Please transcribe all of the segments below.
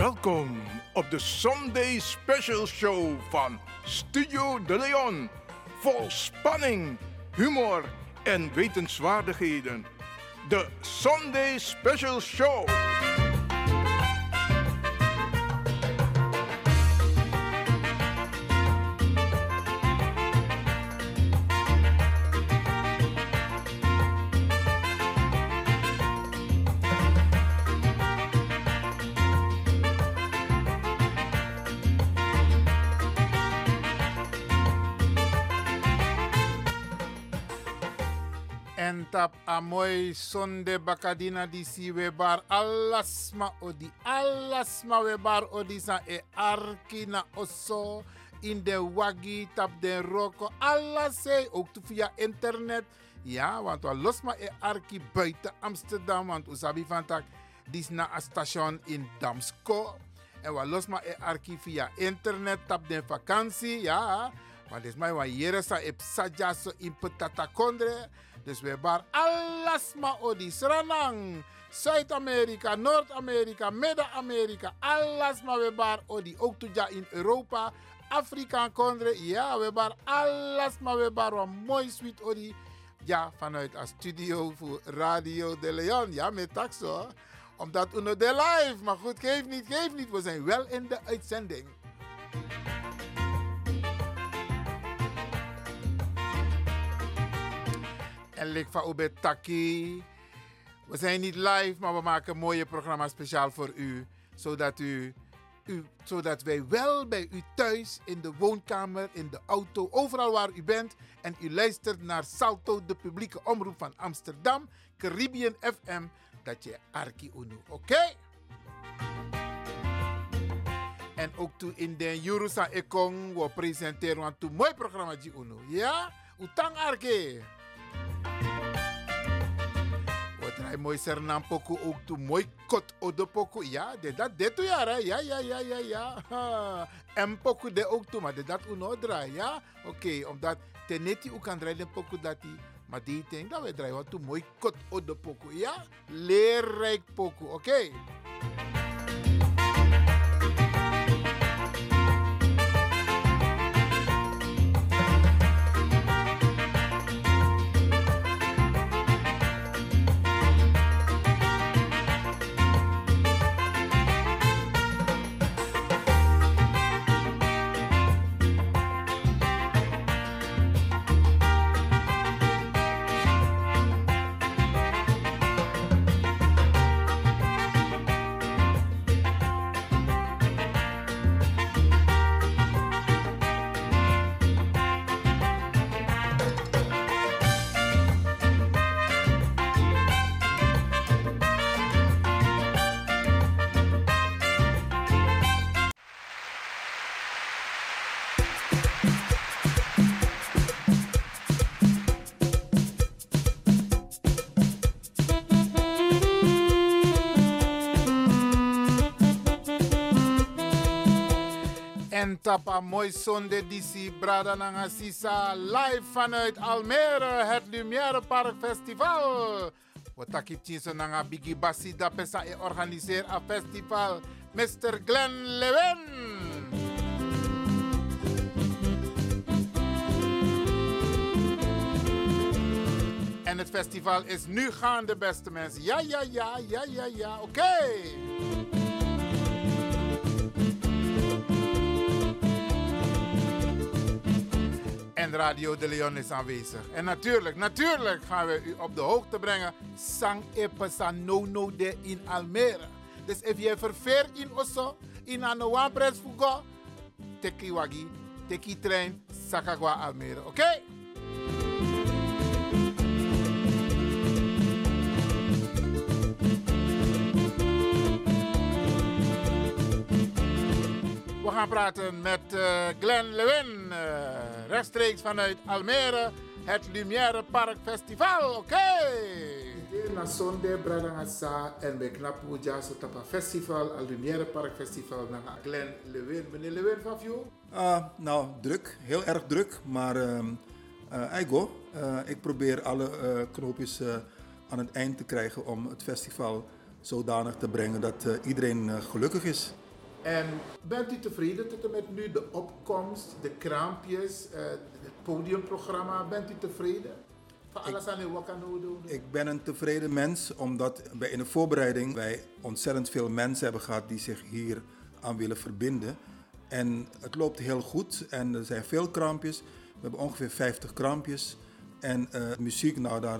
Welkom op de Sunday Special Show van Studio De Leon. Vol spanning, humor en wetenswaardigheden. De Sunday Special Show. En tap amoy sonde bakadina di si webar alasma webar odi sa e arkina oso in de wagi tap den roko alase ook via internet. Ja, want we losma e arki buiten Amsterdam, want usabi van tak dis na a station in Damsko. En we losma e arki via internet tap den vakantie, ja. Want is mij wat jere sa e psaja so in petata kondre. Dus we bar alasma odi Sranang, Zuid-Amerika, Noord-Amerika, Midden-Amerika, alasma we bar odi. Ook toja in Europa, Afrika kondre. Ja, we bar alasma we bar wat mooi sweet odi. Ja, vanuit een studio voor Radio De Leon. Ja, met taxo. Omdat we de live. Maar goed, geef niet. We zijn wel in de uitzending. En lik van Ube Taki. We zijn niet live, maar we maken een mooie programma speciaal voor u. Zodat wij wel bij u thuis, in de woonkamer, in de auto, overal waar u bent. En u luistert naar Salto, de publieke omroep van Amsterdam, Caribbean FM. Dat je Arki Unu, oké? En ook toe in de Jurusa Ekong, we presenteren een mooi programma die Unu. Ja? Utang Arki. Hij mooi sernam poku ook toe mooi kot odo poku. Ja, dat toe ja, ja. En poku de ook toe, maar dat uno draai, ja. Oké, omdat teneti u kan draaien poku dat die, maar die denk dat we draaien wat toe mooi kot odo poku, ja. Leerrijk poku, oké. En tapa mooi zonde disi brada nanga sisa live vanuit Almere, het Lumière Park Festival. Wat takip tjinso nanga bigi basi da pesa e organiseer a festival Mr. Glenn Lewin. En het festival is nu gaande, beste mensen. Ja, oké. En Radio De Leon is aanwezig. En natuurlijk gaan we u op de hoogte brengen. Sang epesa no de in Almere. Dus als je verveert in Osso, in een pres fugo, teki wagi, teki trein, Sakagwa Almere. Oké? We gaan praten met Glenn Lewin, rechtstreeks vanuit Almere, het Lumière Park Festival. Oké! Na zonde bradangasa en bij knapu jaso tapa festival, al Lumière Park Festival, naar Glenn Lewin. Meneer Lewin, van jou? Nou, druk, heel erg druk, maar ik probeer alle knoopjes aan het eind te krijgen om het festival zodanig te brengen dat iedereen gelukkig is. En bent u tevreden tot en met nu de opkomst, de kraampjes, het podiumprogramma? Bent u tevreden? Van alles aan wat kan u doen? Ik ben een tevreden mens, omdat wij in de voorbereiding wij ontzettend veel mensen hebben gehad die zich hier aan willen verbinden. En het loopt heel goed en er zijn veel kraampjes. We hebben ongeveer 50 kraampjes. En muziek, nou daar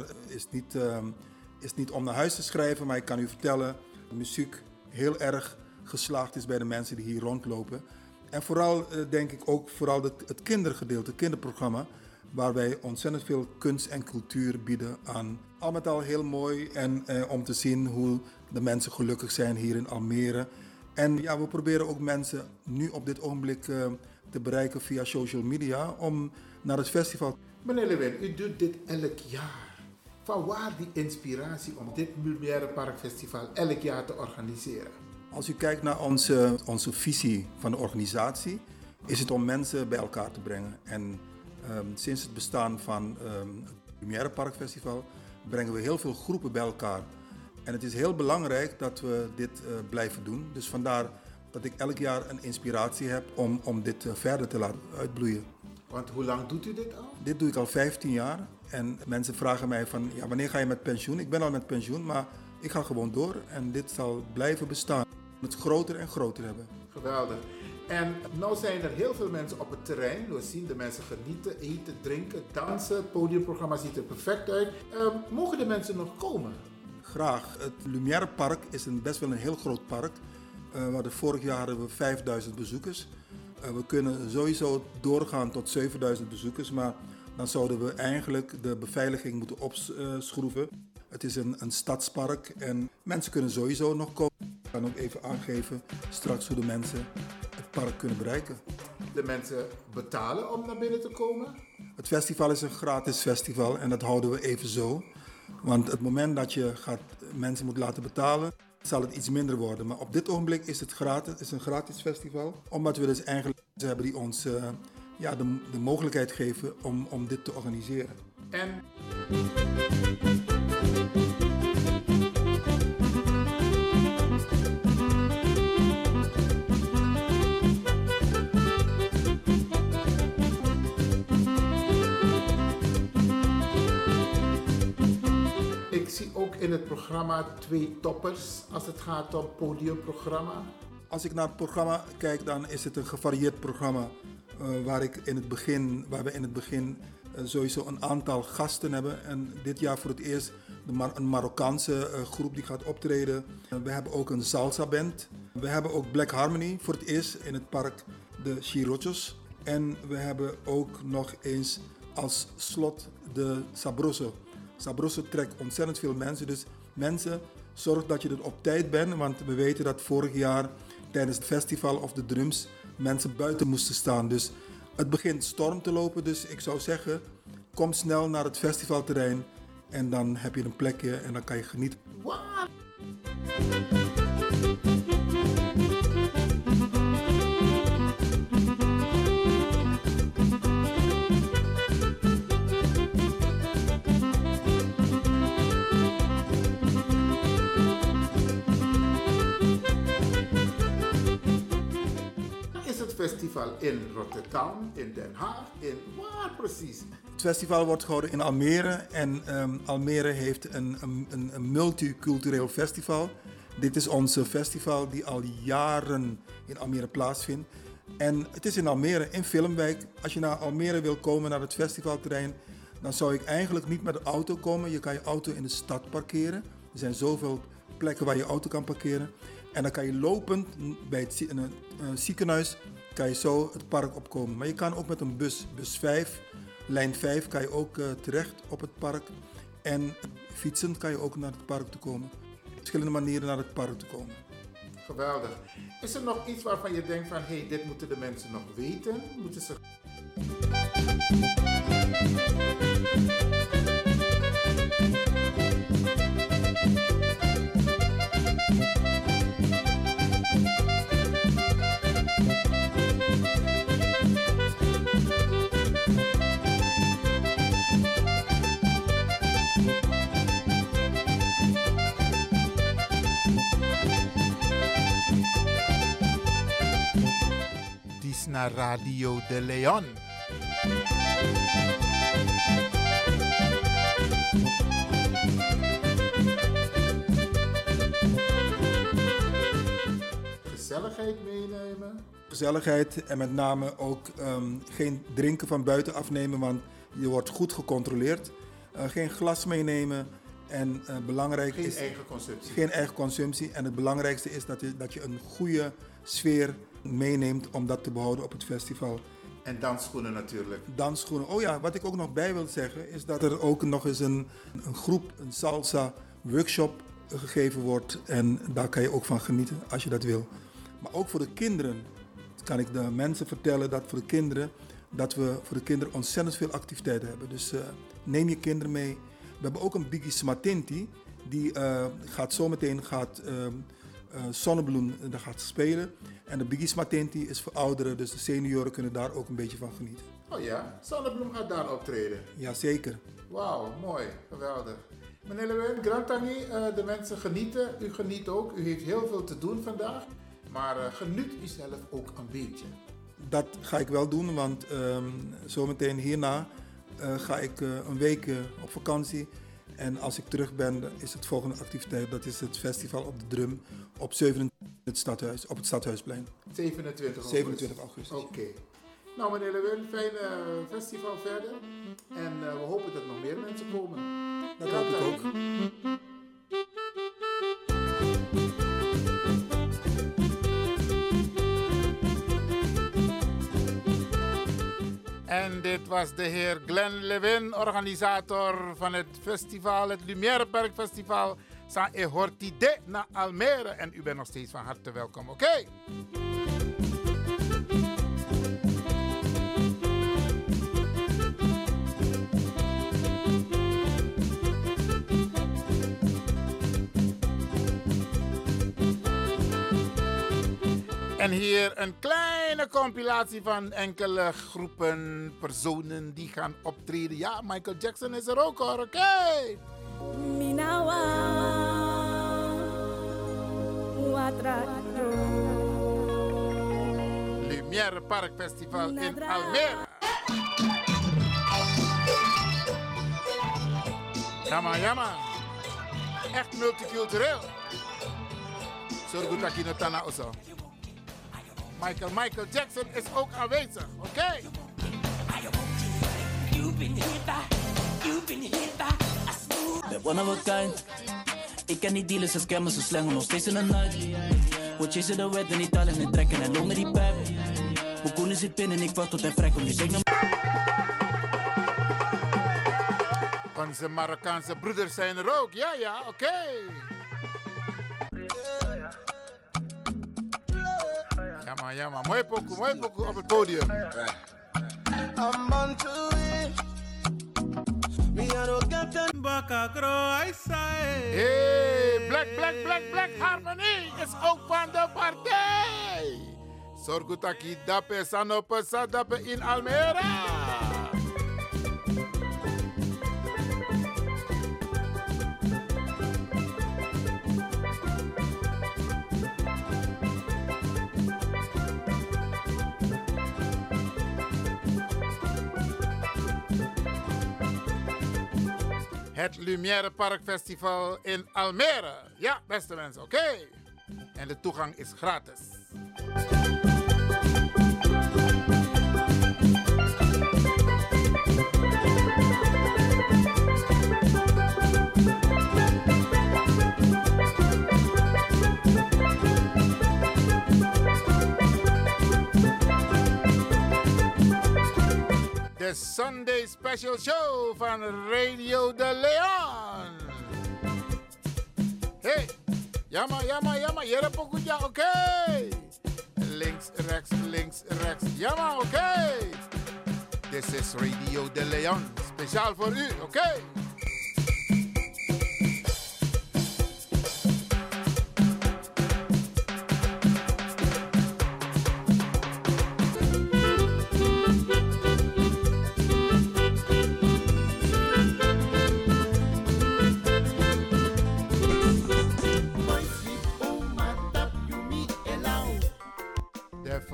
is niet om naar huis te schrijven, maar ik kan u vertellen, de muziek heel erg geslaagd is bij de mensen die hier rondlopen. En vooral denk ik ook vooral het kindergedeelte, het kinderprogramma, waar wij ontzettend veel kunst en cultuur bieden aan. Al met al heel mooi en om te zien hoe de mensen gelukkig zijn hier in Almere. En ja, we proberen ook mensen nu op dit ogenblik te bereiken via social media om naar het festival. Meneer Lewin, u doet dit elk jaar. Van waar die inspiratie om dit Lumière Park Festival elk jaar te organiseren? Als u kijkt naar onze visie van de organisatie, is het om mensen bij elkaar te brengen. En sinds het bestaan van het Lumière Park Festival brengen we heel veel groepen bij elkaar. En het is heel belangrijk dat we dit blijven doen. Dus vandaar dat ik elk jaar een inspiratie heb om dit verder te laten uitbloeien. Want hoe lang doet u dit al? Dit doe ik al 15 jaar. En mensen vragen mij van, ja, wanneer ga je met pensioen? Ik ben al met pensioen, maar ik ga gewoon door. En dit zal blijven bestaan. Het groter en groter hebben. Geweldig. En nu zijn er heel veel mensen op het terrein. We zien de mensen genieten, eten, drinken, dansen. Het podiumprogramma ziet er perfect uit. Mogen de mensen nog komen? Graag. Het Lumière Park is best wel een heel groot park. Vorig jaar hadden we 5000 bezoekers. We kunnen sowieso doorgaan tot 7000 bezoekers, maar dan zouden we eigenlijk de beveiliging moeten opschroeven. Het is een stadspark en mensen kunnen sowieso nog komen. Ik kan ook even aangeven straks hoe de mensen het park kunnen bereiken. De mensen betalen om naar binnen te komen? Het festival is een gratis festival en dat houden we even zo. Want het moment dat je mensen moet laten betalen, zal het iets minder worden. Maar op dit ogenblik is het gratis, het is een gratis festival. Omdat we dus eigenlijk mensen hebben die ons de mogelijkheid geven om dit te organiseren. En ik zie ook in het programma 2 toppers als het gaat om podiumprogramma. Als ik naar het programma kijk, dan is het een gevarieerd programma. Waar we in het begin sowieso een aantal gasten hebben. En dit jaar voor het eerst een Marokkaanse groep die gaat optreden. We hebben ook een salsa band. We hebben ook Black Harmony voor het eerst in het park, de Chirochos. En we hebben ook nog eens als slot de Sabroso. Sabroso trekt ontzettend veel mensen. Dus mensen, zorg dat je er op tijd bent. Want we weten dat vorig jaar tijdens het festival of de drums mensen buiten moesten staan. Dus het begint storm te lopen. Dus ik zou zeggen, kom snel naar het festivalterrein. En dan heb je een plekje en dan kan je genieten. Wat? Festival in Rotterdam, in Den Haag, in waar precies? Het festival wordt gehouden in Almere en Almere heeft een multicultureel festival. Dit is onze festival die al jaren in Almere plaatsvindt. En het is in Almere, in Filmwijk. Als je naar Almere wil komen, naar het festivalterrein, dan zou ik eigenlijk niet met de auto komen. Je kan je auto in de stad parkeren. Er zijn zoveel plekken waar je auto kan parkeren. En dan kan je lopend bij het ziekenhuis kan je zo het park opkomen. Maar je kan ook met een bus 5, lijn 5, kan je ook terecht op het park. En fietsend kan je ook naar het park toe komen. Verschillende manieren naar het park te komen. Geweldig. Is er nog iets waarvan je denkt van, hey, dit moeten de mensen nog weten? Moeten ze... naar Radio de Leon. Gezelligheid meenemen. Gezelligheid en met name ook geen drinken van buiten afnemen, want je wordt goed gecontroleerd. Geen glas meenemen en belangrijk Geen is... eigen consumptie. Geen eigen consumptie. En het belangrijkste is dat je een goede sfeer meeneemt om dat te behouden op het festival. En dansschoenen natuurlijk. Dansschoenen. Oh ja, wat ik ook nog bij wil zeggen is dat er ook nog eens een groep, een salsa workshop gegeven wordt. En daar kan je ook van genieten als je dat wil. Maar ook voor de kinderen kan ik de mensen vertellen dat we voor de kinderen ontzettend veel activiteiten hebben. Dus neem je kinderen mee. We hebben ook een Biggie Smatinti. Die gaat zometeen Zonnebloem daar gaat spelen. En de Biggie Smatinti is voor ouderen, dus de senioren kunnen daar ook een beetje van genieten. Oh ja, Zonnebloem gaat daar optreden. Jazeker. Wauw, mooi, geweldig. Meneer Lewin, Grantani, de mensen genieten. U geniet ook. U heeft heel veel te doen vandaag. Maar geniet u zelf ook een beetje. Dat ga ik wel doen, want zometeen hierna ga ik een week op vakantie. En als ik terug ben, is het volgende activiteit. Dat is het festival op de drum op 27 op het Stadhuisplein. 27 augustus. Oké. Nou meneer Lewin, fijne festival verder. En we hopen dat nog meer mensen komen. Dat hoop ik ook. En dit was de heer Glenn Lewin, organisator van het festival, het Lumière Park Festival. Sa e hortide naar Almere. En u bent nog steeds van harte welkom, oké? En hier een kleine compilatie van enkele groepen, personen die gaan optreden. Ja, Michael Jackson is er ook hoor, oké? Minawa Watrado Lumière Park Festival in Almere. Jamma, jamma. Echt multicultureel. Zorg dat je het dan also. Michael Jackson is ook aanwezig, oké? Ben one of a kind. Ik ken die dealers en scammers, ze slangen nog steeds in de night. We chasen de wet en niet talen en trekken en longen die pijp. Hoe koen zit binnen en ik wacht tot hij vrij komt, dus ik Onze Marokkaanse broeders zijn er ook, ja, oké. Ja, mooi pokoe op het podium. I'm on to it. Me I don't get that. Hey, Black Harmony is ook van de partij. Sorgutaki dape sanope sadape in Almere. Het Lumière Park Festival in Almere. Ja, beste mensen, oké. En de toegang is gratis. De Sunday Special Show van Radio de Leon. Hey, jamma, jere pokuja, oké. Links, rechts, jamma, oké. This is Radio de Leon, speciaal voor u, oké.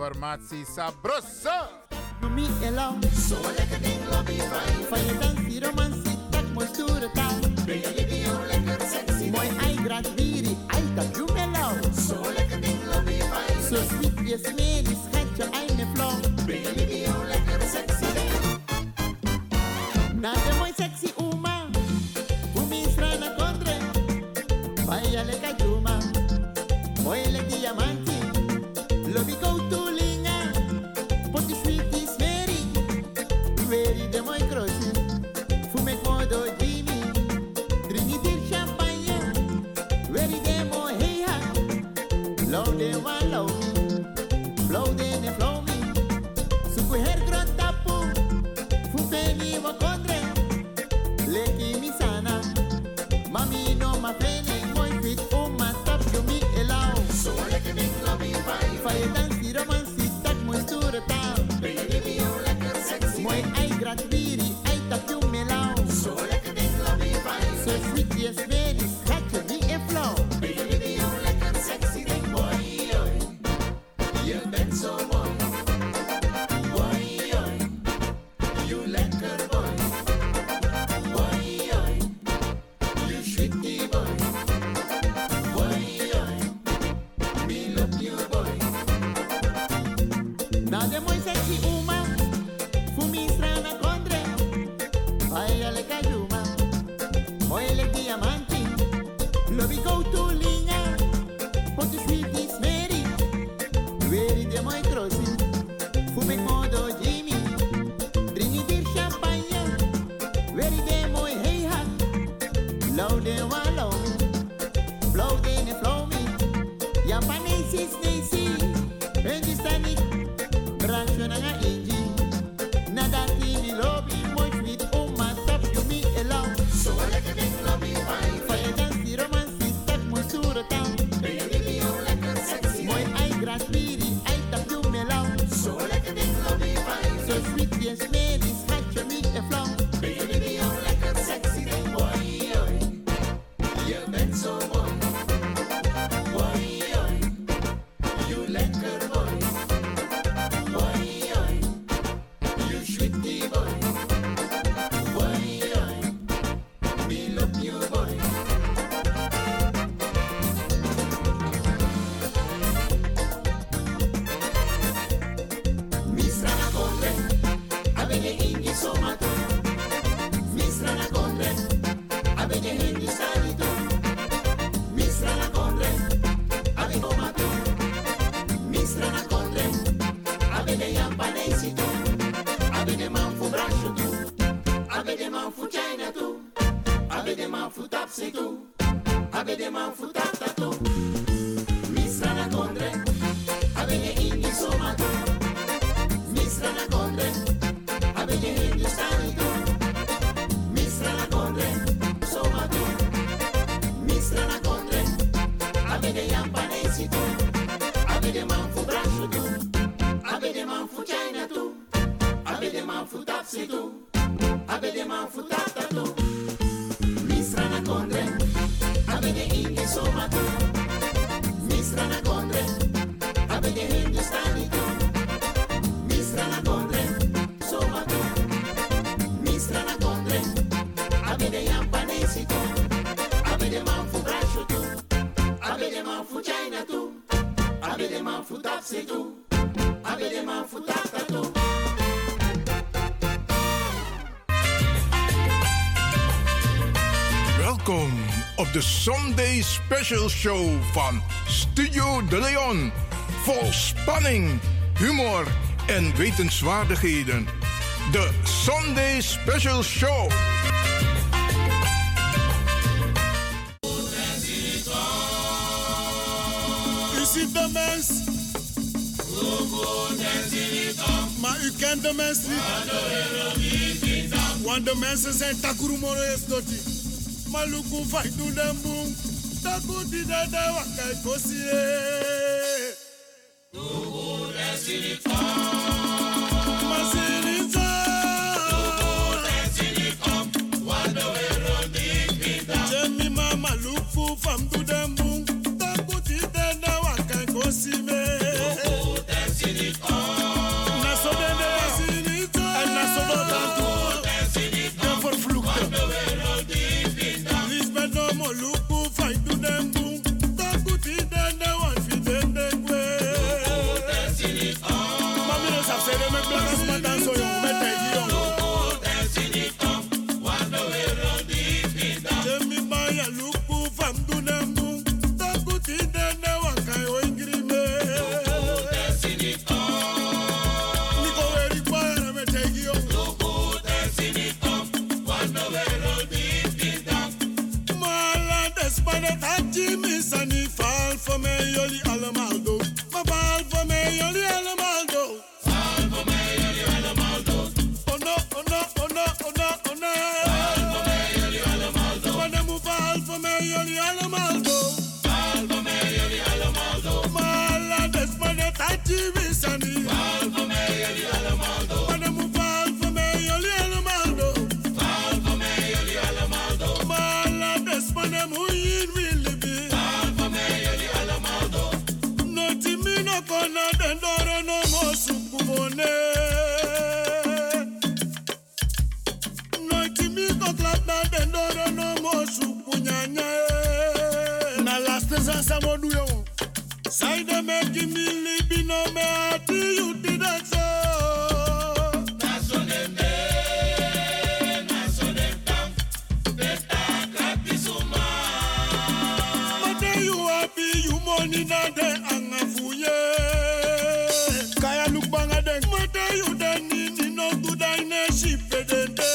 informatie sabroso. Me alone. So lekker ding lobby vibe. Van je dans die romantie, dat mooi stoere taal. Ben je video lekker sexy. Mooi ei graag biri, ei dat doe me lauw. So lekker ding lobby vibe. Zo sweet je smeer, die schat je ei me flow. Ben je video lekker sexy. Na de mooi sexy uma, hoe me strana contre. Vaya lekker juma, mooi lekker diamanti. Lobby go to linga, pot die sweet is Mary. Very de mooi crossi, fume modo Jimmy. Drink it champagne, very de mooi hey ha. Low de one low me, flow de ne flow me. Suku her grand tapu, fume ni wa kondre. Leki mi sana, mami no ma fene. Mooi fit oma tap you me allow. So lekker ding lobby vibe. Fire dance die romantie, tak mooi stoere taal. Ben je video lekker sexy. Mooi ei graag biri, ei tap you me lauw. So lekker ding lobby vibe. So sweet yes baby, schat je me in flow. Ben je video lekker sexy ding boy. Je bent zo mooi. Boy, you lekker boy. Boy, you sweetie boy. Boy, me love you boy. Na de mooi sexy uma, fu mi strana contre. Vaya le cayuma, mooi le diamanti. Lobby go to linga, pot de sweet is Mary. Very de mooi crossi, fu me modo Jimmy. Drink it hier champagne, very de mooi hey ha. Low de one low me, flow de ne flow me. Japanese is Stacy, en die staan niet. Brancho na nga inji, na dat die lobby mooi sweet. Oma tap you me allow. So lekker ding lobby vibe. Van je dans die romantie, tak mooi stoere taal. Ben je video lekker sexy. Mooi ei graag biri, ei tap you me lauw. So lekker ding lobby vibe. So sweet yes lady, schat je me en flow. Ben je video lekker sexy ding boy. Je bent zo mooi. Boy, you lekker boy. Boy, you sweetie boy. Boy, me love you boy. Misra na contre, abene ingi somato. Misra na contre, abene hindi sanito. Misra na contre, abene tomato. Misra na contre, abene yampanesi tu. Abene man fu brascio tu. Abene man fu china tu. Abene man fu tapsi tu. Abene man fu tata tu. Misra na contre, abene ingi somato. Misra na contre, abene hindi sanito. Misra na contre, somato. Misra na contre, abene yampanesi tu. Abene man fu brascio tu. Abene man fu china tu. Abene man fu tapsi tu. Abene man fu tata tu. Misra na contre, abene ingi somato. Misra na contre, abene hindi sanito. Misra na contre, somato. Misra na contre, abene yampanesi tu. Abene man fu brascio tu. Abene man fu china tu. Abene man fu tapsi tu. Abene man fu tata tu. Welkom op de Sunday Special Show van Studio De Leon. Vol spanning, humor en wetenswaardigheden. De Sunday Special Show. U ziet de mens, maar u kent de mens niet. Want de mensen zijn takurumoro esdoti. Maar luku fai du dem boom. Taku di da da wakai kosie. Luku desinita. Masinita. Luku desinita. Wado erodik vida. Jemi mama luku fam du dem boom. Taku di da da wakai kosie. Luku desinita. mi baya luku fam dunambu. Takuti dene wakai oingrime. Luku desinito. Niko weri para me tegio. Luku desinito. Cuando vero distinta. Mala despane tachi misani fall for me yoli alamaldo. Ma fall for me yoli alamaldo. Fall for me yoli alamaldo. Oh no, oh no, oh no, oh no, oh no. Fall for me yoli alamaldo. Manemu fall for me yoli alamaldo. Fall for me yoli alamaldo. Mala despane tachi misani. Fall for me yoli alamaldo. Manemu fall for me yoli alamaldo. Fall for me yoli alamaldo. Mala despane muyin wilibi. Fall for me yoli alamaldo. No timino kona dendoro no mosukubone. No timino klapna dendoro no mosukunyanya. Na last sasa moduyo. Saide meki milibi no me ati you did that so. Money na de angafuye. Kaya look banga den. Mata you den ni no good ine shipe den de.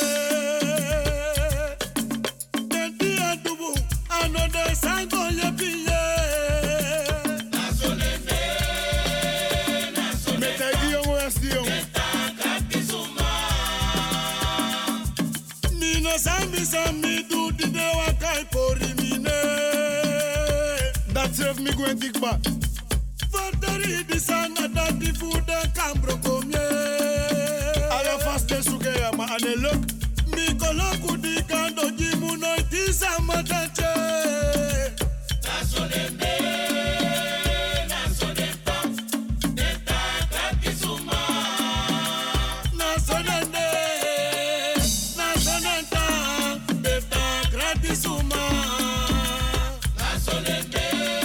Den di adubu another sango ye piye. Nasolene. Mete giyo westiyo. Mina sami do di de wakai pori mine. Save me going dig back. Fatari di sana that the food and cambro come. Ala fast de sugeya ma ane look. Mi koloku di kando jimu no iti sama tache. Nasolende, nasolenda, deta kakisuma. Nasolende, nasolenda, deta gratisuma. Nasolende.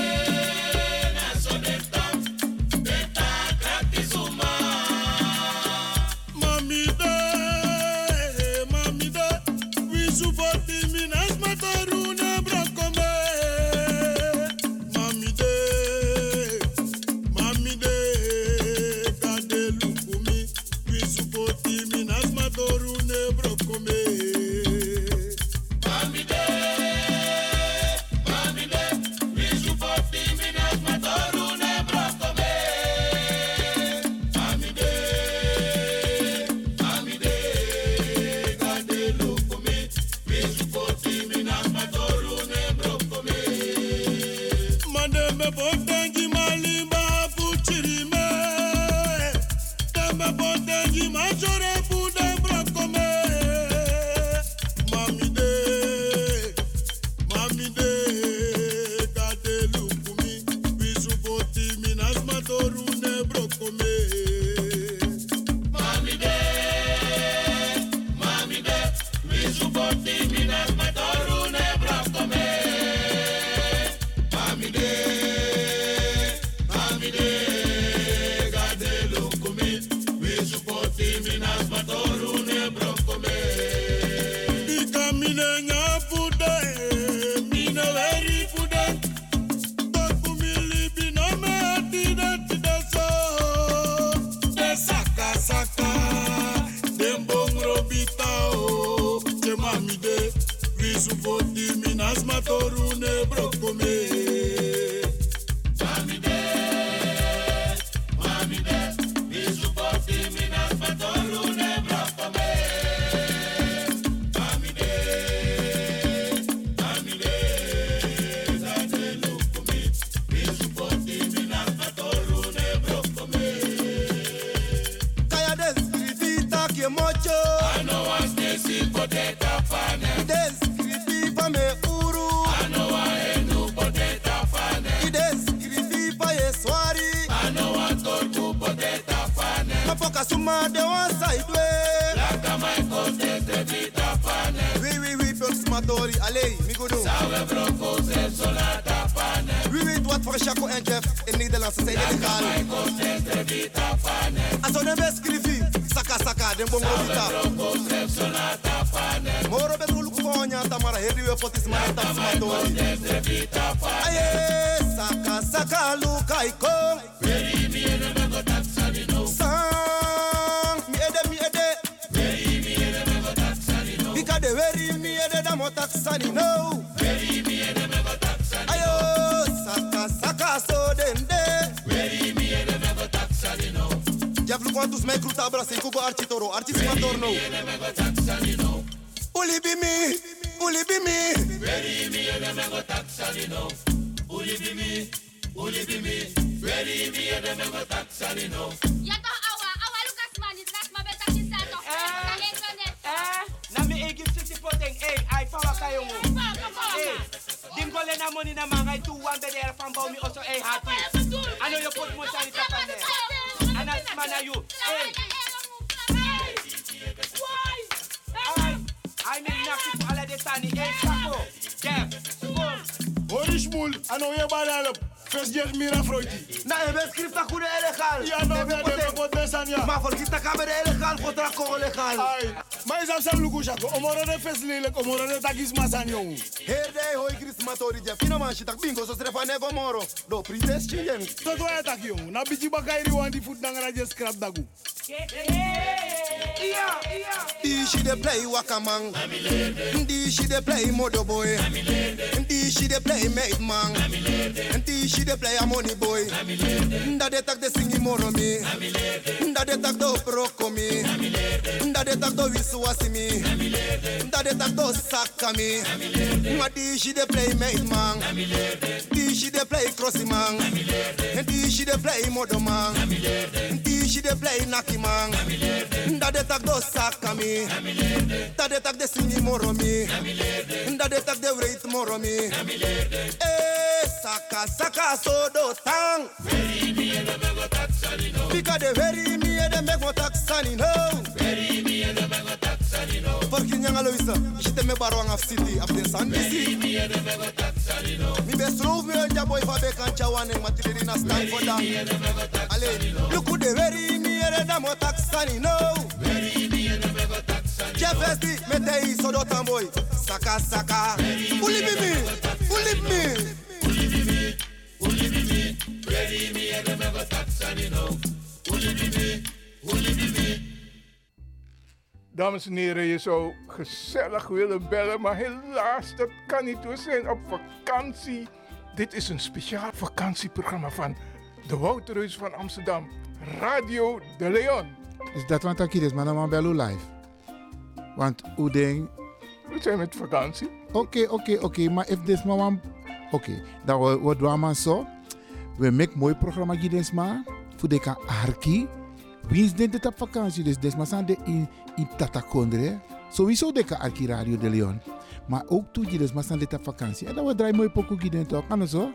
Suma de one side way. Laka my cote te vita pane. Oui, Pulsmatori, allez, migodo. Sawe bronco ze solata pane. Oui, wat voor Chaco en Jeff in Nederland zijn illegaal. Laka my cote te vita pane. Als on best skrivi, saka, den bongo vita. Sawe bronco ze solata pane. Moro betrol konya tamara heri we potis mara taximatori. Aye, saka saka luka iko. Very me and a go taxi no. Sang mi ede. Very me and a go taxi no. Bika de very mi ede da mo taxani no. Very me and a go taxi. Ayo, saka so dende. Very me and a go taxi no. Diablo quantos me cruta abraça kugo architoro, artisimator no. Uli be me. Very me and a go taxi no. Uli be me. Very me and a go taxi no. Ja toch, awa Lucas man, is ras maar beter die staat toch. Na me e give city potting, ai power kayo mo. Dim go le na money na mga 2-1 bedera fan bau mi also happy. Ano yo put mo sa ita pa ne. Anas mana you. I mean nothing for all the tani. Sako. Yeah. Orishmul, ano ye banalop. First year mira Freudi. Na e bescript a kude illegal. Ja, no, de potesan ja. Maar voor kita kamer illegal, contra Congo legal. Ai, maar is afsam lugu jako. Omoro de fes lelijk, omoro de takis masan jong. Herde hoi Christmatori ja. Fina man shitak bingo so strefa nevo moro. Do pretest chingen. Tot wa tak jong. Na biji bakairi wan di foot nangara je scrap dagu. Di she de play wakamang. Di she de play modo boy. Di she de play mate man. Di she de play a money boy. Nda de tak de singi moro mi. Nda de tak do proko mi. Nda de tak do wisuwasi mi. Nda de tak do saka mi. Nwa di she de play mate man. Di she de play crossy man. Di she de play modo man. Di she de play naki man. Nda de tak do saka mi. Nda de tak de singi moro mi. Nda de tak de wait moro mi. Saka so do tang. Very me and a go taxi no. Bika de very me and a go taxani no. Very me and a go taxi no. Porque nyanga Luisa, jite me barwang af city af den san Very me and a go taxi no. Mi best love me ja boy fa be kan chawane matiri na stand for that. Ale, look who de very me and a go taxani no. Very me and a go taxi. Jeffesti me tei so do tamboy. Saka. Uli be me. Very me and a go taxi no. Uli be me. Dames en heren, je zou gezellig willen bellen, maar helaas, dat kan niet. We zijn op vakantie. Dit is een speciaal vakantieprogramma van de Wouterhuis van Amsterdam, Radio de Leon. Is dat wat ik is, maar dan bellen live. Want hoe denk... We zijn met vakantie. Oké, maar if this maar... Oké, dan wat doen we zo? We maken mooi programma gids maar. Voor de kan arki. Wie is dit op vakantie? Dus des maar zijn de in Tatakondre. Sowieso de kan arki Radio de Leon. Maar ook toe gids maar zijn dit op vakantie. En dan we draaien mooi pokoe gids toch? Kan zo?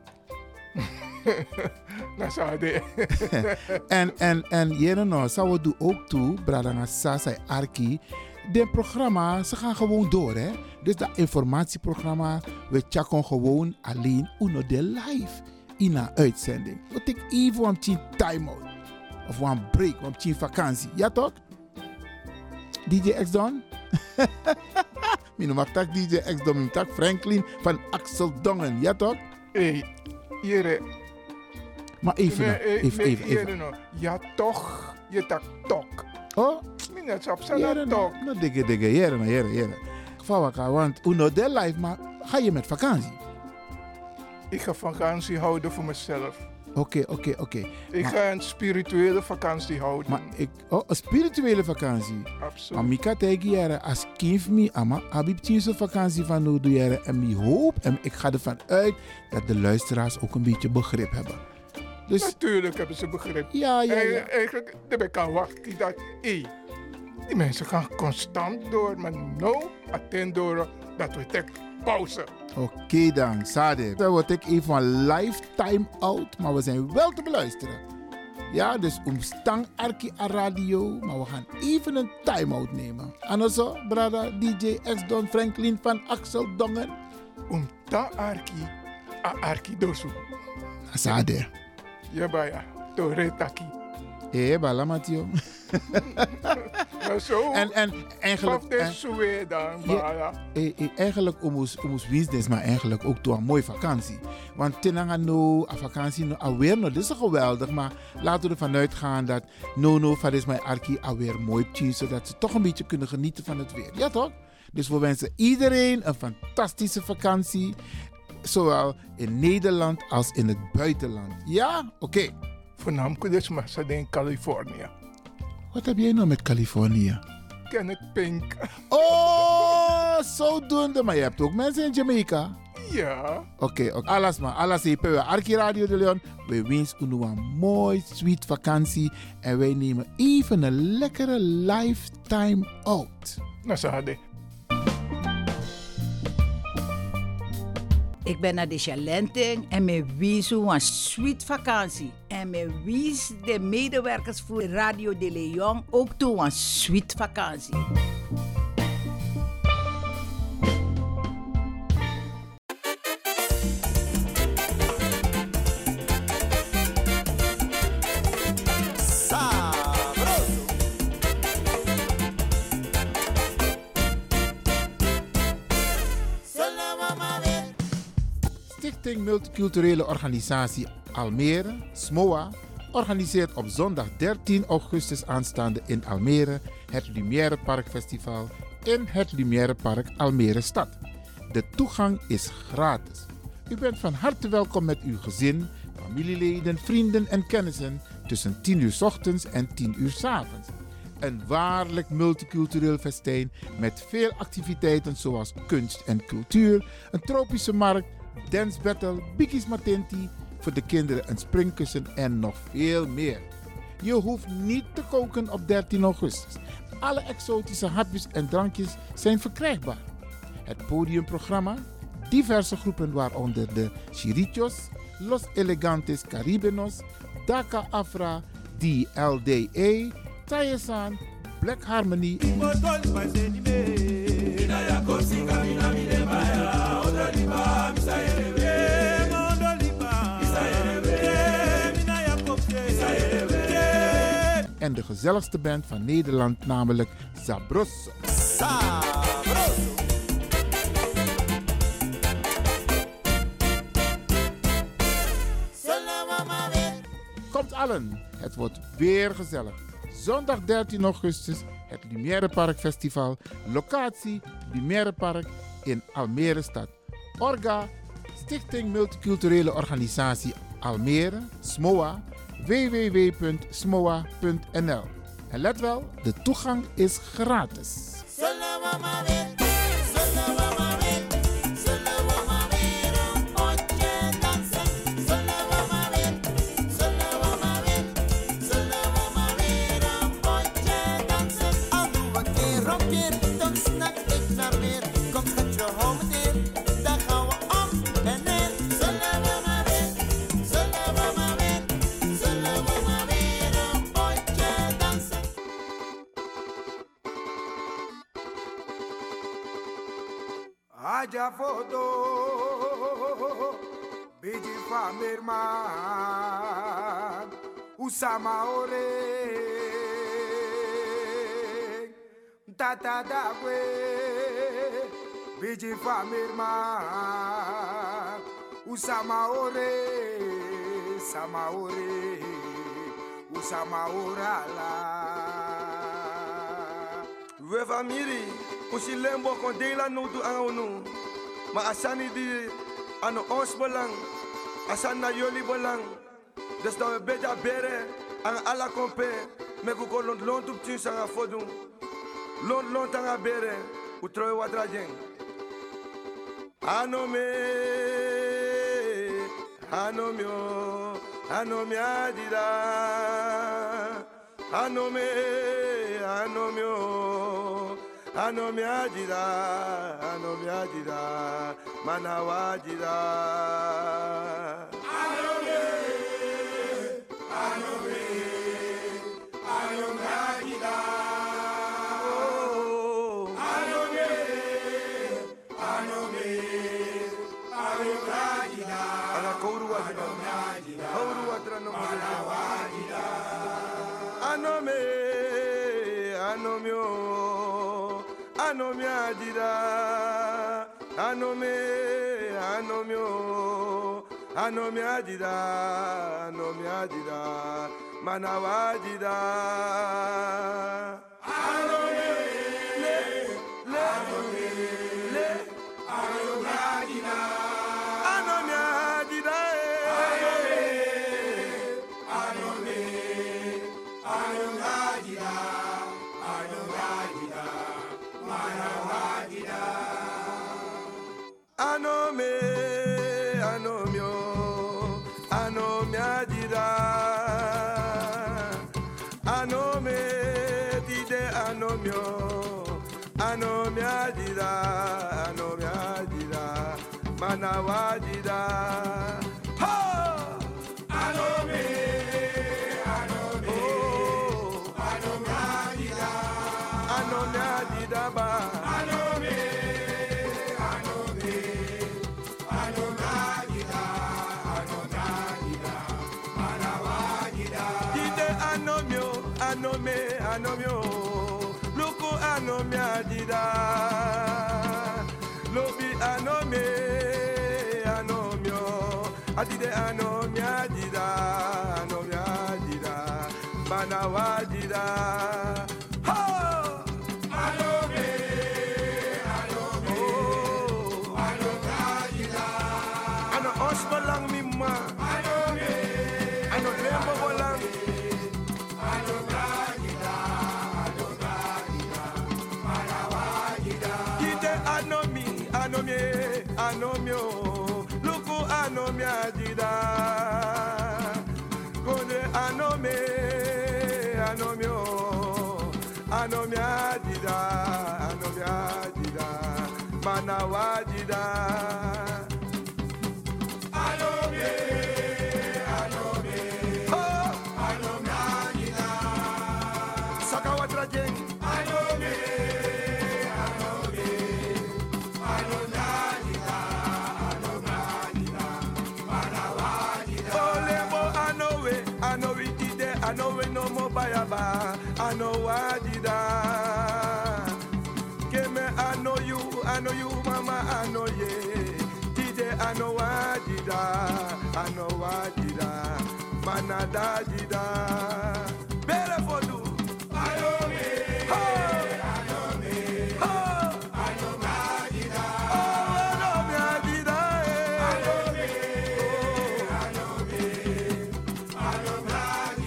Dat zou de. En jere nou, zou we doen ook toe, Bradanga Sasa Arki. De programma, ze gaan gewoon door, hè. Dus dat informatieprogramma, we checken gewoon alleen uno de live in een uitzending. We take even een time-out. Of een break, een vakantie. Ja toch? DJ X-Don? Mijn noem tak DJ X-Don, mijn tak Franklin van Axel Dongen. Ja toch? Hey, jere. Maar even. Ja toch, je tak tok. Oh? Minutes op zijn tok. Nou, dikke, jere. Vawaka, want uno de live, maar ga je met vakantie? Ik ga vakantie houden voor mezelf. Oké. Ik ga een spirituele vakantie houden. Maar een spirituele vakantie? Absoluut. Maar Mika tegen jaren, als kind me, ama, heb ik zo'n vakantie van nu doe jaren. En ik hoop, en ik ga ervan uit, dat de luisteraars ook een beetje begrip hebben. Dus, natuurlijk hebben ze begrip. Ja. Eigenlijk, ik kan wachten dat, die mensen gaan constant door, maar nou, attend door dat we tek pauze. Oké dan, Sade. Dan word ik even een lifetime out, maar we zijn wel te beluisteren. Ja, dus stang Arki a radio, maar we gaan even een time-out nemen. En zo, brada DJ X-Don Franklin van Axel Dongen. Ta Arki dosu. Sade. Ja, baya, to retaki. Balamatio. Zo. En eigenlijk. Of dit zo weer dan, Bala. Eigenlijk omus business, maar eigenlijk ook door een mooie vakantie. Want tenanga no, a vakantie no alweer no, dit is geweldig. Maar laten we ervan uitgaan dat no van is mijn arki alweer mooi tien, zodat ze toch een beetje kunnen genieten van het weer. Ja toch? Dus we wensen iedereen een fantastische vakantie. Zowel in Nederland als in het buitenland. Ja? Oké. Voornamelijk dus maar in Californië. Wat heb jij nou met Californië? Kenneth Pink. Oh, zodoende. Maar je hebt ook mensen in Jamaica. Ja. Oké. Alles maar. Alles even. Arki Radio de Leon. We wensen u een mooi, sweet vakantie. En wij nemen even een lekkere lifetime out. Nou, Sade. Ik ben naar de Chalenting en me wies een sweet vakantie. En me wies de medewerkers voor Radio de Leon ook toe een sweet vakantie. Stichting Multiculturele Organisatie Almere, SMOA, organiseert op zondag 13 augustus aanstaande in Almere het Lumière Park Festival in het Lumière Park Almere Stad. De toegang is gratis. U bent van harte welkom met uw gezin, familieleden, vrienden en kennissen tussen 10 uur 's ochtends en 10 uur 's avonds. Een waarlijk multicultureel festijn met veel activiteiten zoals kunst en cultuur, een tropische markt, dance battle, bikkies matenti, voor de kinderen een springkussen en nog veel meer. Je hoeft niet te koken op 13 augustus. Alle exotische hapjes en drankjes zijn verkrijgbaar. Het podiumprogramma, diverse groepen waaronder de Chirichos, Los Elegantes Caribenos, Daka Afra, DLDA, Tayesan, Black Harmony, en de gezelligste band van Nederland, namelijk Sabroso. Komt allen, het wordt weer gezellig. Zondag 13 augustus, het Lumière Park Festival. Locatie Lumière Park in Almere Stad. Orga, Stichting Multiculturele Organisatie Almere, SMOA, www.smoa.nl. En let wel, de toegang is gratis. Aja foto, biji famirman, usama ore, tata dagwe, biji famirman, usama ore, usama orala. We famiri. Usi lembo kon dela no tu angonu. Ma asani di ano ons belang. Asan na yoli belang. Dus dat we beja bere aan alla kompe. Me ko lont tu tien sanga fodu. Lont tanga bere. U troi watra jeng. Anome. Anomio. Anomi adida. Anomio. Anomi ajira, manawajira. Anomi ajira. Oh, anomi ajira. Ana kouru ajira. Kouru ajira no manawajira. Anome adida, anome, anomio, anome adida, manawajida. Anome, le, anome, le, anome adida, anome adida, anome, anome adida. Anome, anomio, anome adida, anome, dide anomio, anome adida, manawajida. Ha! Anome, anome, oh, anome adida, anome adida ba. Anomio, loko anome adida, lobi anome, anomio, adide anome adida, manawajida. Ha! Anome, oh, anome adida, ano osbalang mimma, ano lembo bolang. Anomio, luku anomi adida, kone anome, anomio, anomi adida, manawajida. Anome, oh, anomi adida, sakawatra jeng. I know we no more bayaba, I know wajida. Keme, I know you, mama, I know ye. Tide, I know wajida, manada jida. Better for you. I know me, I know me, I know wajida. Oh, I know me, ajida, I know me, I know me.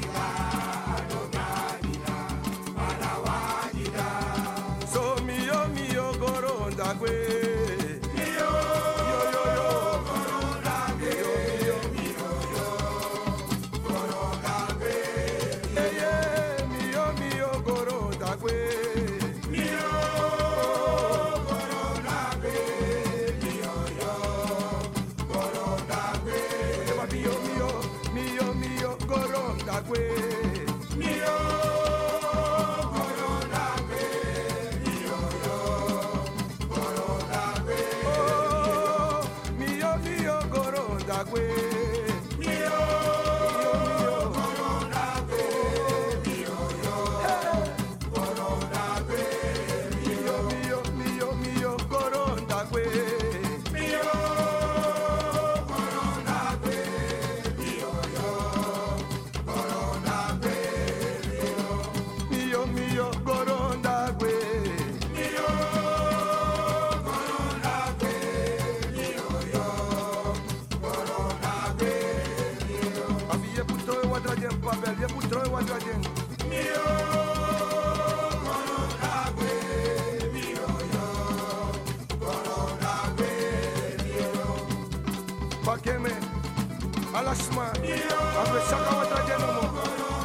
Alasma, abe saka watra jeno mo.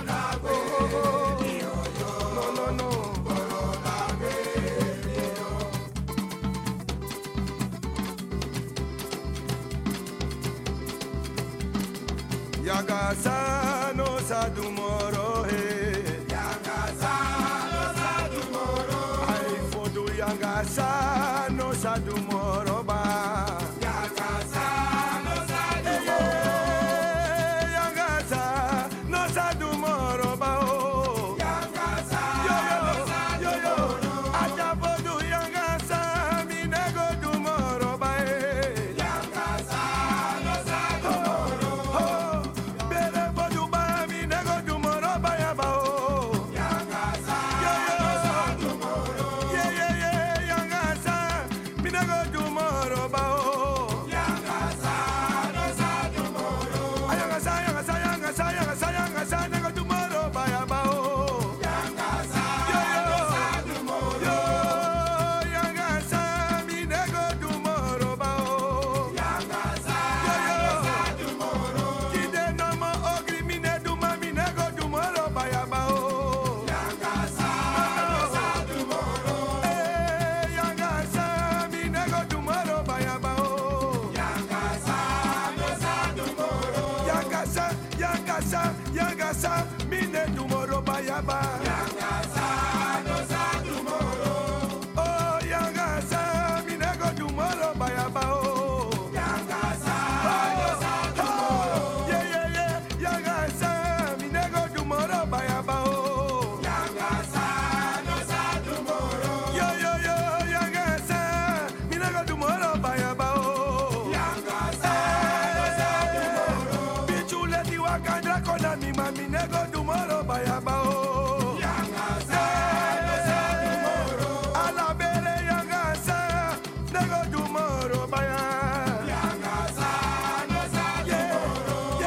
No. Yagasa no sadumoro he. Yagasa no sadumoro. Ai fodu yagasa no sadumoro ba. Yagasa no sadumoro. Yagasa no sadumoro ba o. Yagasa no sadumoro. Aja fodu yagasa. Yangasa, mine tomorrow bayaba. Yangasa, no sa tomorrow. Oh, Yangasa, mine go tomorrow bayaba. Oh, Yangasa, no sa tomorrow. Yeah. Yangasa, mine go tomorrow bayaba. Oh, Yangasa, no sa tomorrow. Yo, Yangasa, mine go tomorrow bayaba. Oh, Yangasa, no sa tomorrow. Bichule di wakandra kona mi mami nego tomorrow bayaba oh. Yangasa, no sa tomorrow. Alabere Yangasa, nego tomorrow bayaba. Yangasa, no sa tomorrow.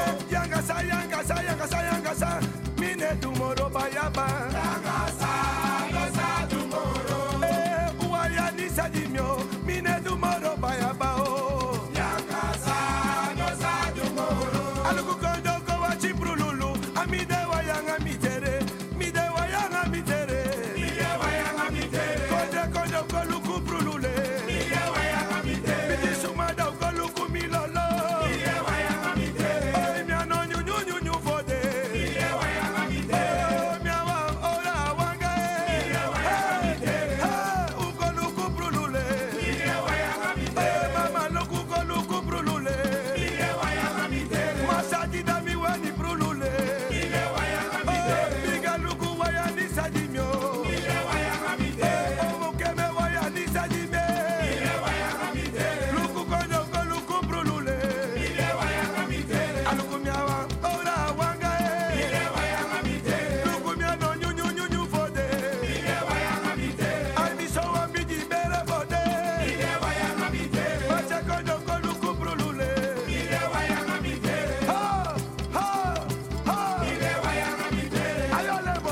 Yangasa, mine tomorrow bayaba. Yangasa, no sa tomorrow. Uwaya ni sadimyo, mine tomorrow bayaba oh. Yangasa, no sa tomorrow. Aluku kondo ko wachi prululu, amide wayanga mitere, mide wayanga mitere. Mide wayanga mitere. Kondo koluku prulule. Mide wayanga mitere. Mide sumada koluku milolo. Mide wayanga mitere. Oh, mi ano nyu fode. Mide wayanga mitere. Oh, mi awa ora wanga. Mide wayanga mitere. Ha, ukoluku prulule. Mide wayanga mitere. Mama loku koluku prulule. Mide wayanga mitere. Masadi dami wani prulule. Mide wayanga mitere. Biga luku wayani sadimyo. Mide wayanga mitere. Oh, mukeme wayani sadime. Mide wayanga mitere. Luku kono koluku prulule. Mide wayanga mitere. Aluku miawa ora wanga. Mide wayanga mitere. Luku miano nyu fode. Mide wayanga mitere. Almiso wambidi bere fode. Mide wayanga mitere. Mache kono koluku prulule. Mide wayanga mitere. Ha. Mide wayanga mitere. Ayo lebo.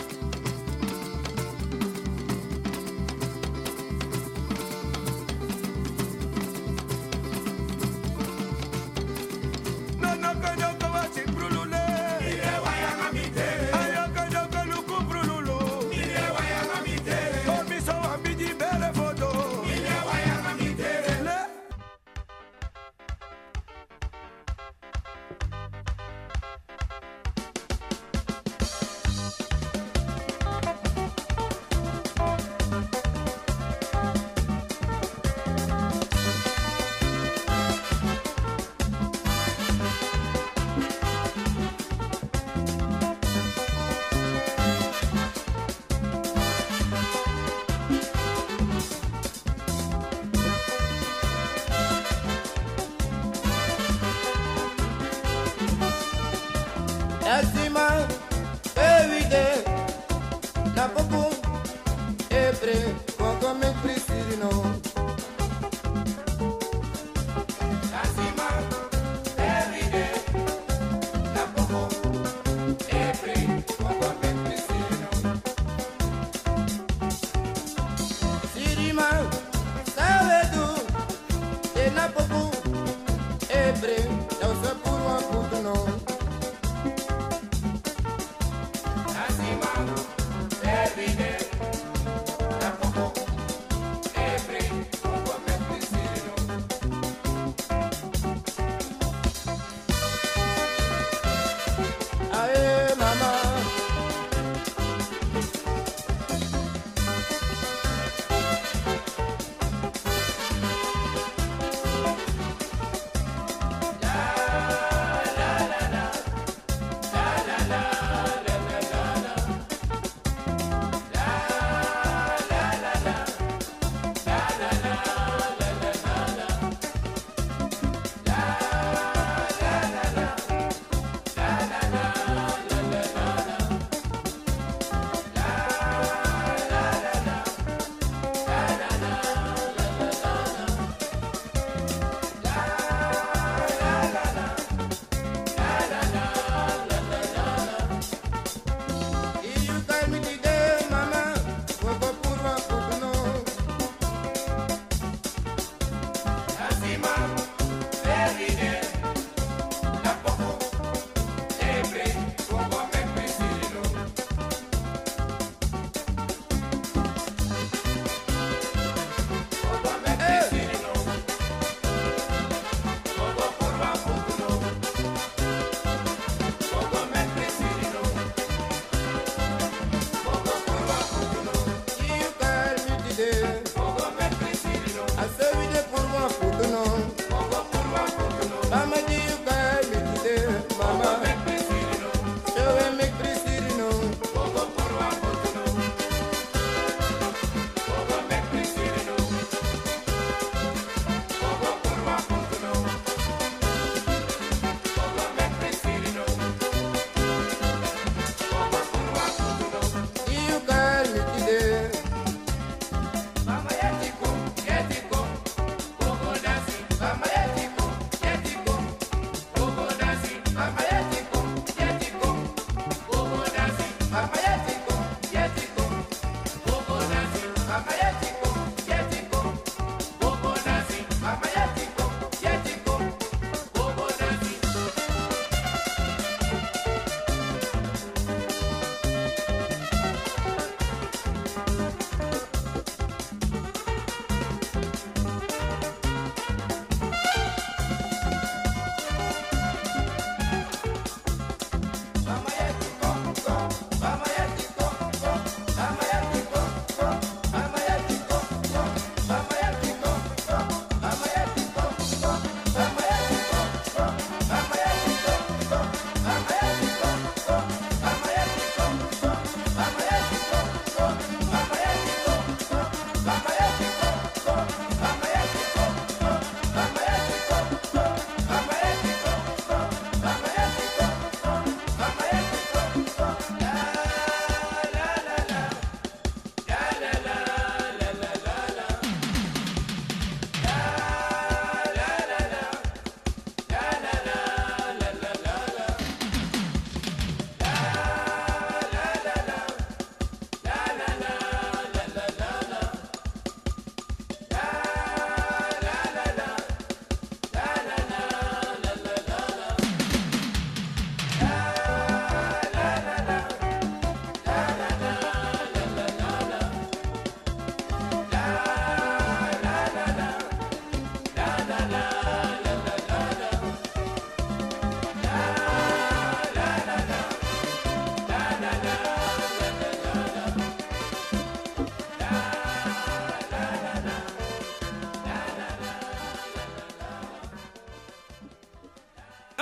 No kono ko wachi prulule. Mide wayanga mitere. Ayo kono koluku prululu. Mide wayanga mitere. Almiso wambidi bere fodo. Mide wayanga mitere. Le. Lazima everyday na popo ebre koko me prisirino. Lazima everyday na popo ebre koko me prisirino. Sirima sabe tu e na popo ebre não se por uma puto não.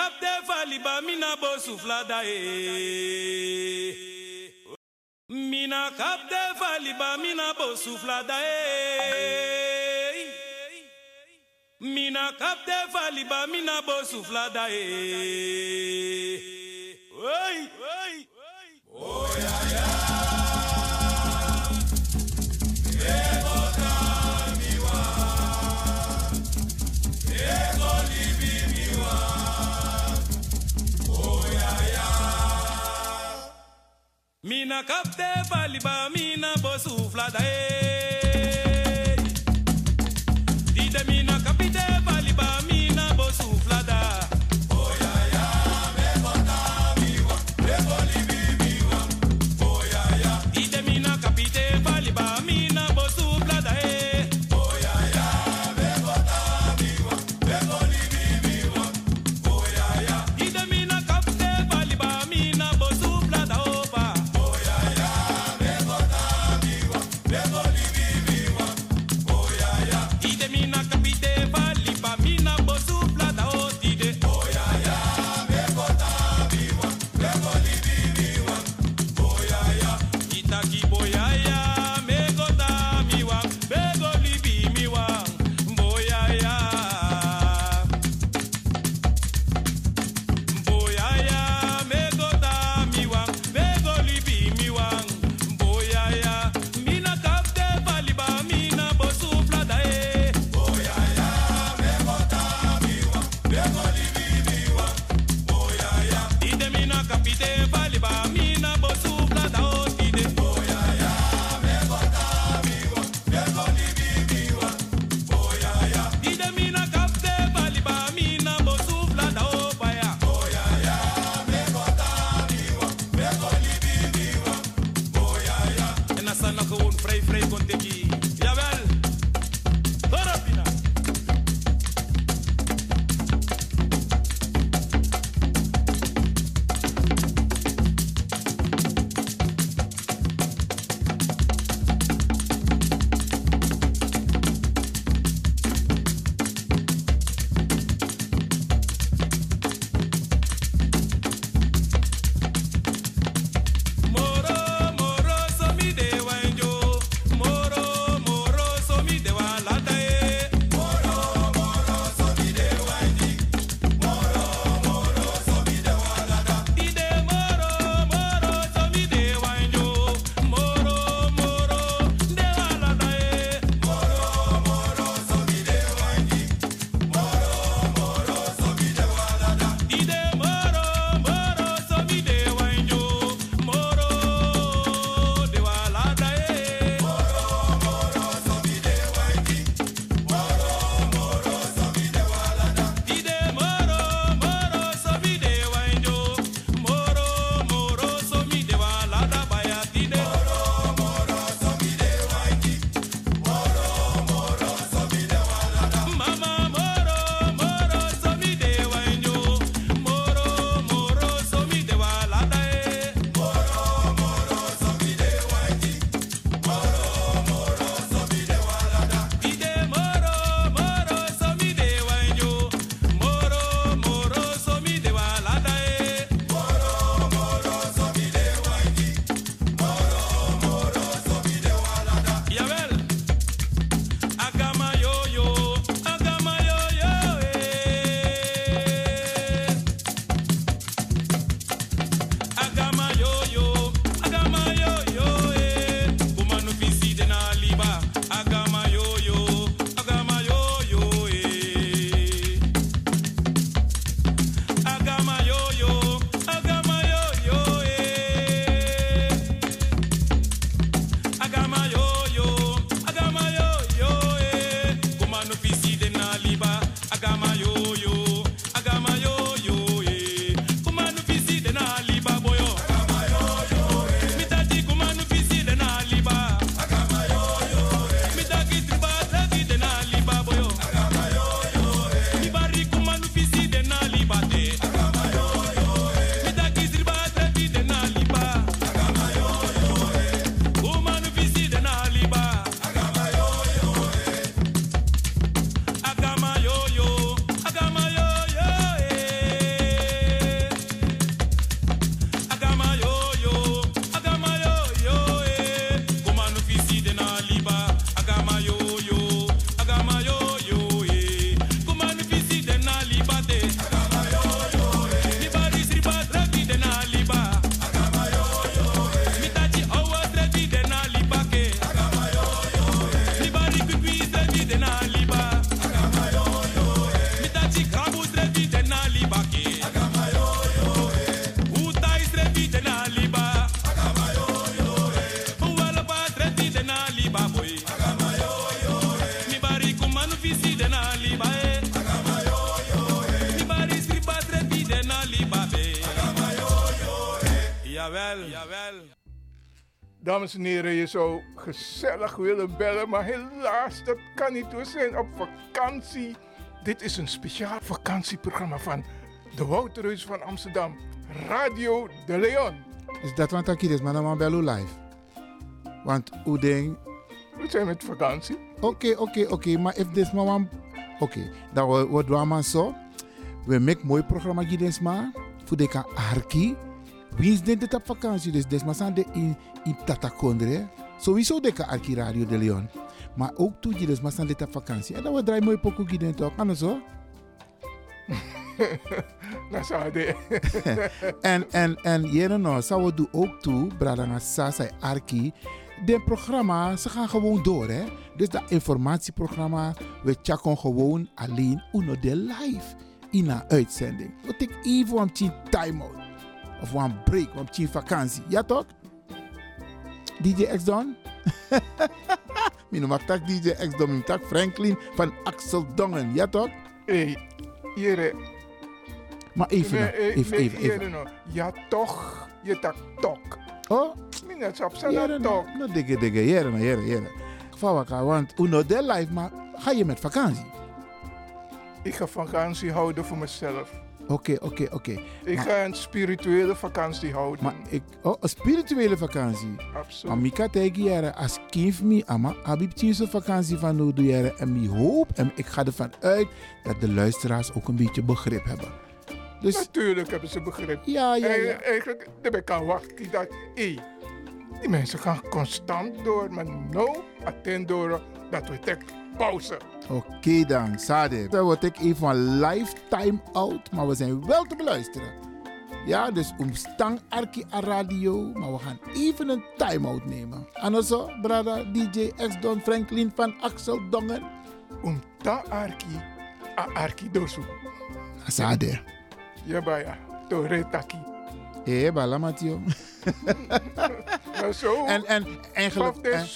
kapte faliba mina bo suflada e. Mina kapte faliba mina bo suflada e. Mina kapte faliba mina bo suflada e. Oi, oi, oi. Oh ya ya. Mina kapte faliba mina bo suflada e. Dide mina kapite faliba mina bo suflada. Oh ya ya, me bota miwa, me boli miwa. Oh ya ya. Dide mina kapite faliba mina bo suflada e. Oh ya ya, me bota miwa, me boli miwa. Oh ya ya. Dide mina kapite faliba mina bo suflada opa. Begoli Jawel. Dames en heren, je zou gezellig willen bellen, maar helaas, dat kan niet. We zijn op vakantie. Dit is een speciaal vakantieprogramma van de Wouterhuis van Amsterdam, Radio de Leon. Is dat wat ik is, maar dan bellen live? Want hoe denk... We zijn met vakantie. Oké, maar if this man... Oké, dan wordt we maar zo. We maken mooi programma maar voor de Arki. Wie is dit op vakantie? Dus des maar in Tatakondre. Sowieso de Arki Radio de Leon. Maar ook toe je dus maar dit op vakantie. En dan we draaien mooi pokoe gieden toch? Kan zo? Dat zou de. En jere nou, zou we doen ook toe, Bradanga Sasa Arki. De programma, ze gaan gewoon door, hè. Dus dat informatieprogramma, we checken gewoon alleen uno de live in een uitzending. We take even een time-out. Of een break, een vakantie. Ja toch? DJ X-Don? Mijn mag tak DJ X-Don, mijn tak Franklin van Axel Dongen. Ja toch? Hey, jere. Maar even. No. Ja toch, je tak tok. Oh? Minnet op zijn tok. No digge, jere. Vawaka, want uno de live, maar ga je met vakantie? Ik ga vakantie houden voor mezelf. Oké. Ik ga een spirituele vakantie houden. Maar een spirituele vakantie? Absoluut. Maar ik ga tegen jaren, als kind me, ama, heb ik een vakantie van nu doe jaren. En ik hoop, en ik ga ervan uit, dat de luisteraars ook een beetje begrip hebben. Dus, natuurlijk hebben ze begrip. Ja. Eigenlijk, ik kan wachten dat, die mensen gaan constant door, maar nou, attent door, dat wetek pauze. Oké dan, Sade. Dan word ik even een lifetime out, maar we zijn wel te beluisteren. Ja, dus stang Arki aan radio, maar we gaan even een time-out nemen. En zo, brada, DJ X-Don Franklin van Axel Dongen. Ta Arki dosu. Sade. Ja, baya. Tore taki. Bala Mathieu. Zo. En eigenlijk.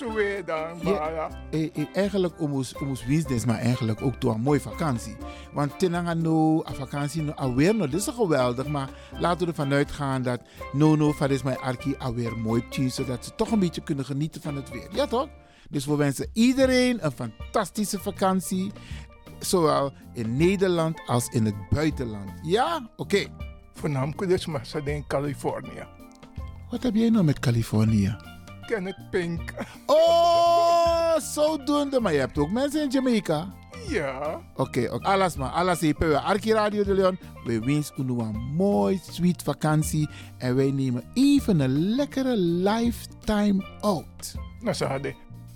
Eigenlijk ons business, maar eigenlijk ook door een mooie vakantie. Want tenanga no, a vakantie no, alweer no, dit is geweldig, maar laten we ervan uitgaan dat no, van is mijn Arki alweer mooi tien, zodat ze toch een beetje kunnen genieten van het weer. Ja toch? Dus we wensen iedereen een fantastische vakantie, zowel in Nederland als in het buitenland. Ja? Oké. Voornamelijk dus maar in Californië. Wat heb jij nou met Californië? Kenneth Pink. Oh, zodoende. Maar je hebt ook mensen in Jamaica? Ja. Oké. Alles even. Arki Radio de Leon. We wensen u een mooi, sweet vakantie. En wij nemen even een lekkere lifetime out. Nou,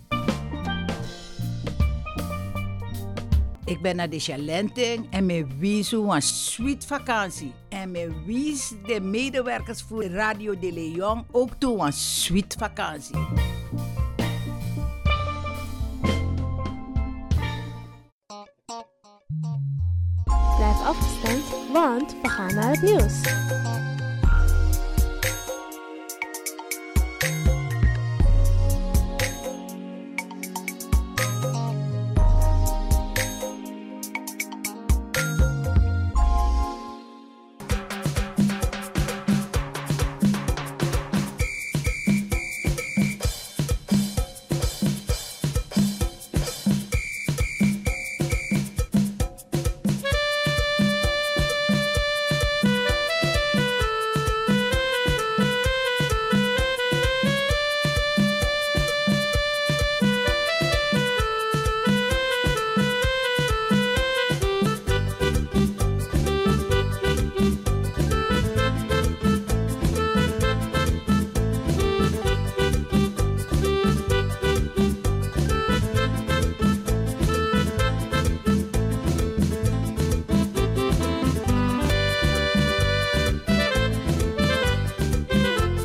Ik ben naar de Chalenting en me wies een sweet vakantie. En me wies de medewerkers voor Radio de Leon ook toe een sweet vakantie. Blijf afgestemd, want we gaan naar het nieuws.